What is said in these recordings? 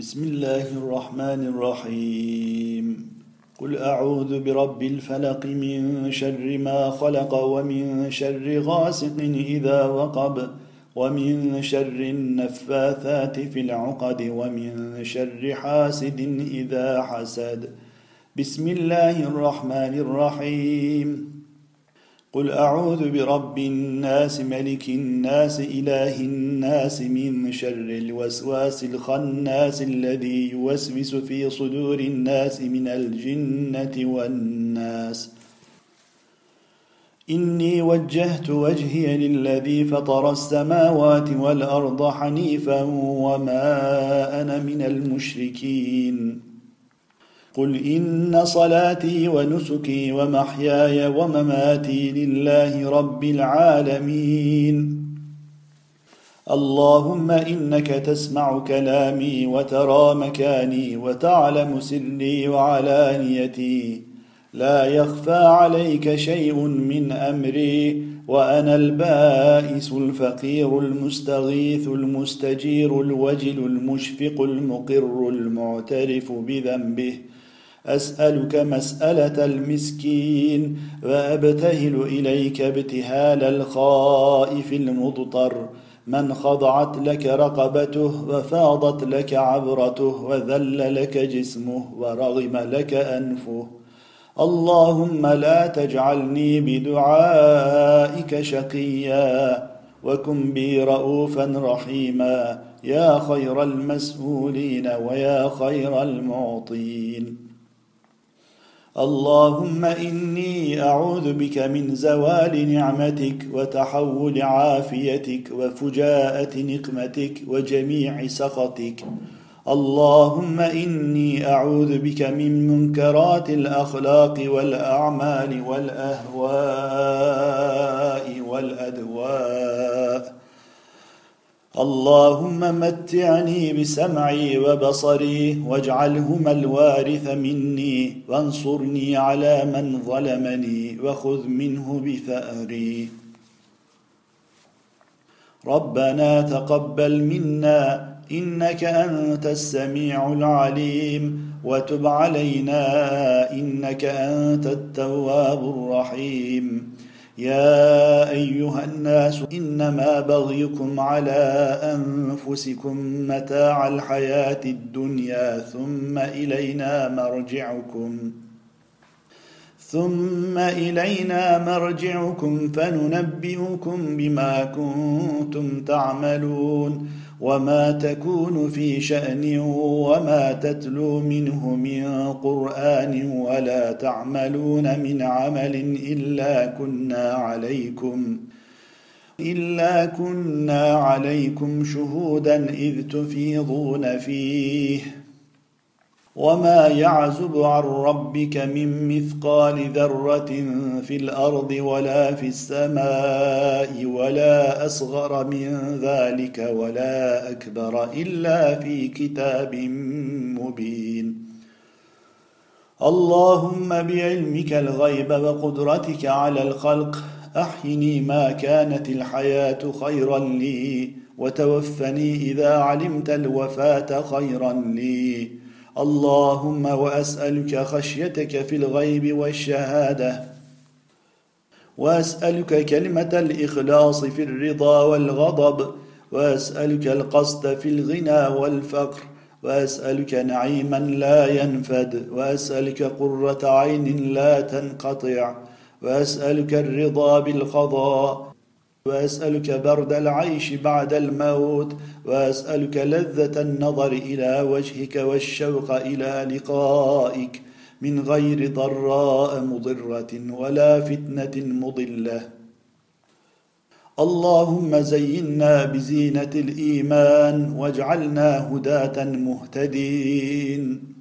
بسم الله الرحمن الرحيم قل أعوذ برب الفلق من شر ما خلق ومن شر غاسق إذا وقب ومن شر النفاثات في العقد ومن شر حاسد إذا حسد بسم الله الرحمن الرحيم قل أعوذ برب الناس ملك الناس إله الناس من شر الوسواس الخناس الذي يوسوس في صدور الناس من الجنة والناس إني وجهت وجهي للذي فطر السماوات والأرض حنيفا وما أنا من المشركين قل إن صلاتي ونسكي ومحياي ومماتي لله رب العالمين اللهم إنك تسمع كلامي وترى مكاني وتعلم سري وعلانيتي لا يخفى عليك شيء من أمري وأنا البائس الفقير المستغيث المستجير الوجل المشفق المقر المعترف بذنبه أسألك مسألة المسكين وأبتهل إليك ابتهال الخائف المضطر من خضعت لك رقبته وفاضت لك عبرته وذل لك جسمه ورغم لك أنفه اللهم لا تجعلني بدعائك شقيا وكن بي رؤوفا رحيما يا خير المسؤولين ويا خير المعطين اللهم إني أعوذ بك من زوال نعمتك وتحول عافيتك وفجاءة نقمتك وجميع سخطك اللهم إني أعوذ بك من منكرات الأخلاق والأعمال والأهواء والأدواء اللهم متعني بسمعي وبصري واجعلهما الوارث مني وانصرني على من ظلمني وخذ منه بثأري ربنا تقبل منا إنك أنت السميع العليم وتب علينا إنك أنت التواب الرحيم يا أيها الناس إنما بغيكم على أنفسكم متاع الحياة الدنيا ثم إلينا مرجعكم فننبئكم بما كنتم تعملون وما تكون في شأن وما تتلو منه من قرآن ولا تعملون من عمل إلا كنا عليكم شهودا إذ تفيضون فيه وما يعزب عن ربك من مثقال ذرة في الأرض ولا في السماء ولا أصغر من ذلك ولا أكبر إلا في كتاب مبين اللهم بعلمك الغيب وقدرتك على الخلق أحيني ما كانت الحياة خيرا لي وتوفني إذا علمت الوفاة خيرا لي اللهم وأسألك خشيتك في الغيب والشهادة وأسألك كلمة الإخلاص في الرضا والغضب وأسألك القصد في الغنى والفقر وأسألك نعيما لا ينفد وأسألك قرة عين لا تنقطع وأسألك الرضا بالقضاء وأسألك برد العيش بعد الموت وأسألك لذة النظر إلى وجهك والشوق إلى لقائك من غير ضراء مضرة ولا فتنة مضلة اللهم زينا بزينة الإيمان واجعلنا هداة مهتدين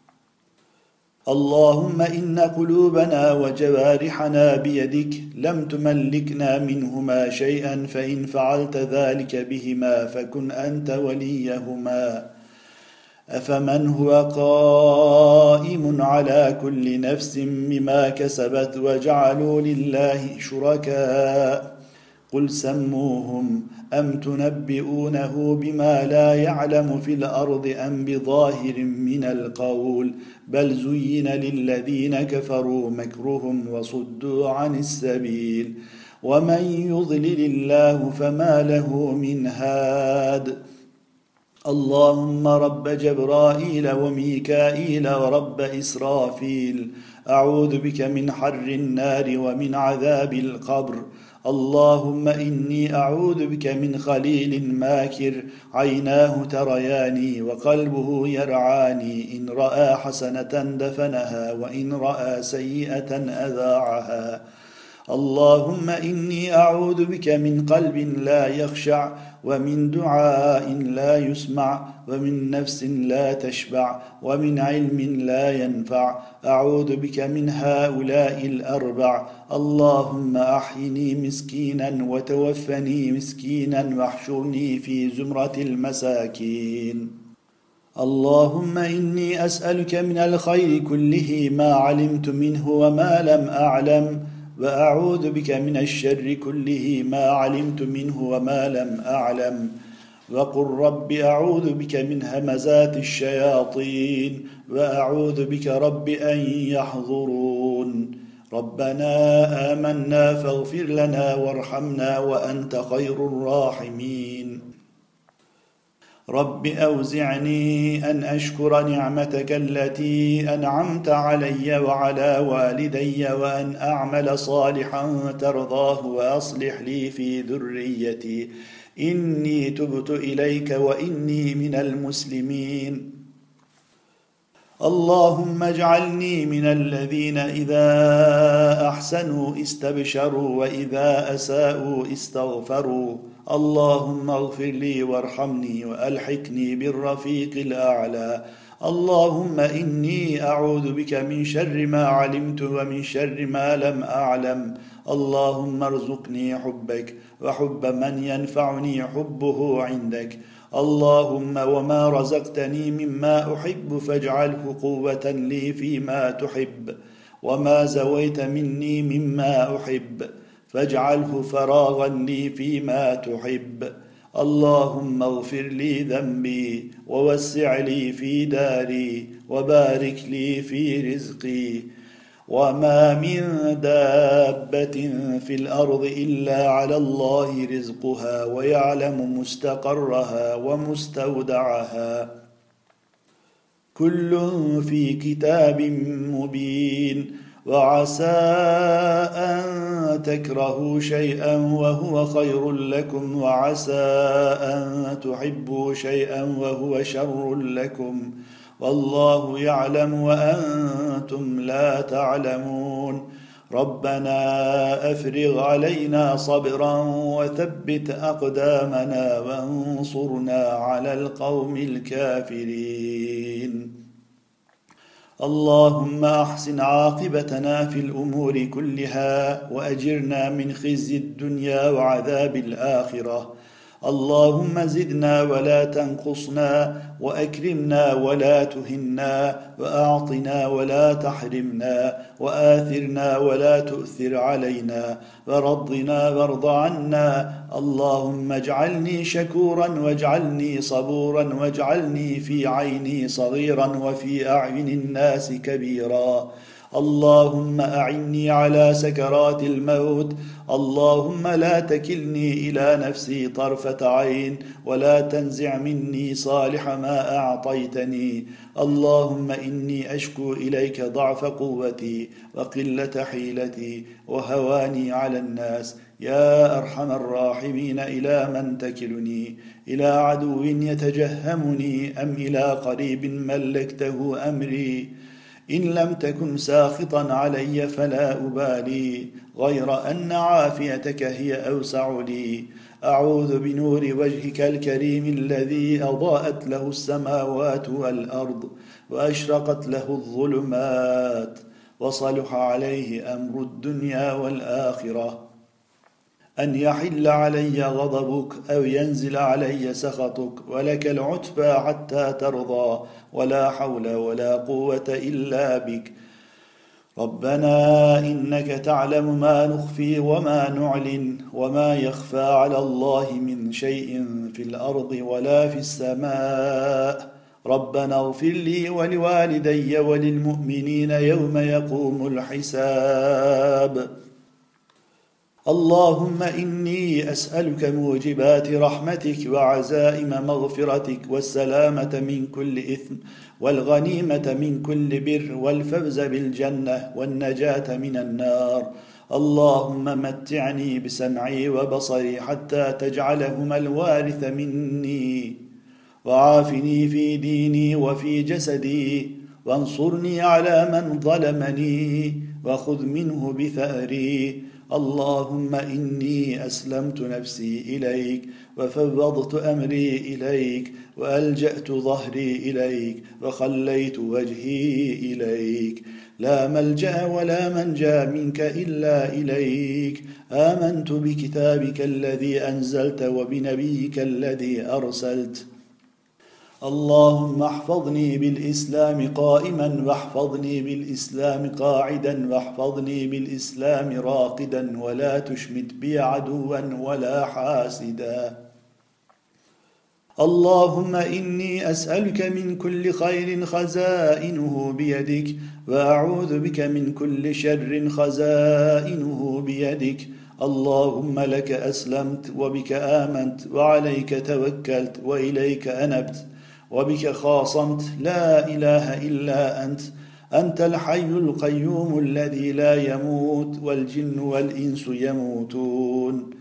اللهم إن قلوبنا وجوارحنا بيدك لم تملكنا منهما شيئا فإن فعلت ذلك بهما فكن أنت وليهما أفمن هو قائم على كل نفس بما كسبت وجعلوا لله شركاء قل سموهم أم تنبئونه بما لا يعلم في الأرض أم بظاهر من القول بل زين للذين كفروا مكرهم وصدوا عن السبيل ومن يضلل الله فما له من هاد اللهم رب جبرائيل وميكائيل ورب إسرافيل أعوذ بك من حر النار ومن عذاب القبر اللهم إني أعوذ بك من خليل ماكر عيناه ترياني وقلبه يرعاني إن رأى حسنة دفنها وإن رأى سيئة أذاعها اللهم إني أعوذ بك من قلب لا يخشع ومن دعاء لا يسمع ومن نفس لا تشبع ومن علم لا ينفع أعوذ بك من هؤلاء الأربع اللهم أحيني مسكينا وتوفني مسكينا واحشرني في زمرة المساكين اللهم إني أسألك من الخير كله ما علمت منه وما لم أعلم وأعوذ بك من الشر كله ما علمت منه وما لم أعلم وقل رب أعوذ بك من همزات الشياطين وأعوذ بك رب أن يحضرون ربنا آمنا فاغفر لنا وارحمنا وأنت خير الراحمين رب أوزعني أن أشكر نعمتك التي أنعمت علي وعلى والدي وأن أعمل صالحا ترضاه وأصلح لي في ذريتي إني تبت إليك وإني من المسلمين اللهم اجعلني من الذين إذا أحسنوا استبشروا وإذا أساءوا استغفروا اللهم اغفر لي وارحمني وألحقني بالرفيق الأعلى اللهم إني أعوذ بك من شر ما علمت ومن شر ما لم أعلم اللهم ارزقني حبك وحب من ينفعني حبه عندك اللهم وما رزقتني مما أحب فاجعله قوة لي فيما تحب وما زويت مني مما أحب فاجعله فراغا لي فيما تحب اللهم اغفر لي ذنبي ووسع لي في داري وبارك لي في رزقي وما من دابة في الأرض إلا على الله رزقها ويعلم مستقرها ومستودعها كل في كتاب مبين وعسى أن تكرهوا شيئا وهو خير لكم وعسى أن تحبوا شيئا وهو شر لكم والله يعلم وأنتم لا تعلمون ربنا أفرغ علينا صبرا وثبت أقدامنا وانصرنا على القوم الكافرين اللهم أحسن عاقبتنا في الأمور كلها وأجرنا من خزي الدنيا وعذاب الآخرة اللهم زدنا ولا تنقصنا وأكرمنا ولا تهنا وأعطنا ولا تحرمنا وآثرنا ولا تؤثر علينا ورضنا وارض عنا اللهم اجعلني شكورا واجعلني صبورا واجعلني في عيني صغيرا وفي أعين الناس كبيرا اللهم أعني على سكرات الموت اللهم لا تكلني إلى نفسي طرفة عين ولا تنزع مني صالح ما أعطيتني اللهم إني أشكو إليك ضعف قوتي وقلة حيلتي وهواني على الناس يا أرحم الراحمين إلى من تكلني إلى عدو يتجهمني أم إلى قريب ملكته أمري إن لم تكن ساخطا علي فلا أبالي غير أن عافيتك هي أوسع لي أعوذ بنور وجهك الكريم الذي أضاءت له السماوات والأرض وأشرقت له الظلمات وصلح عليه أمر الدنيا والآخرة أن يحل علي غضبك أو ينزل علي سخطك ولك العتبى حتى ترضى ولا حول ولا قوة إلا بك ربنا إنك تعلم ما نخفي وما نعلن وما يخفى على الله من شيء في الأرض ولا في السماء ربنا اغفر لي ولوالدي وللمؤمنين يوم يقوم الحساب اللهم إني أسألك موجبات رحمتك وعزائم مغفرتك والسلامة من كل إثم والغنيمة من كل بر والفوز بالجنة والنجاة من النار اللهم متعني بسمعي وبصري حتى تجعلهما الوارث مني وعافني في ديني وفي جسدي وانصرني على من ظلمني وخذ منه بثأري اللهم إني أسلمت نفسي إليك وفوضت أمري إليك وألجأت ظهري إليك وخليت وجهي إليك لا ملجأ ولا منجا منك إلا إليك آمنت بكتابك الذي أنزلت وبنبيك الذي أرسلت اللهم احفظني بالإسلام قائما واحفظني بالإسلام قاعدا واحفظني بالإسلام راقدا ولا تشمت بي عدوا ولا حاسدا اللهم إني أسألك من كل خير خزائنه بيدك وأعوذ بك من كل شر خزائنه بيدك اللهم لك أسلمت وبك آمنت وعليك توكلت وإليك أنبت وبك خاصمت لا إله إلا أنت الحي القيوم الذي لا يموت والجن والإنس يموتون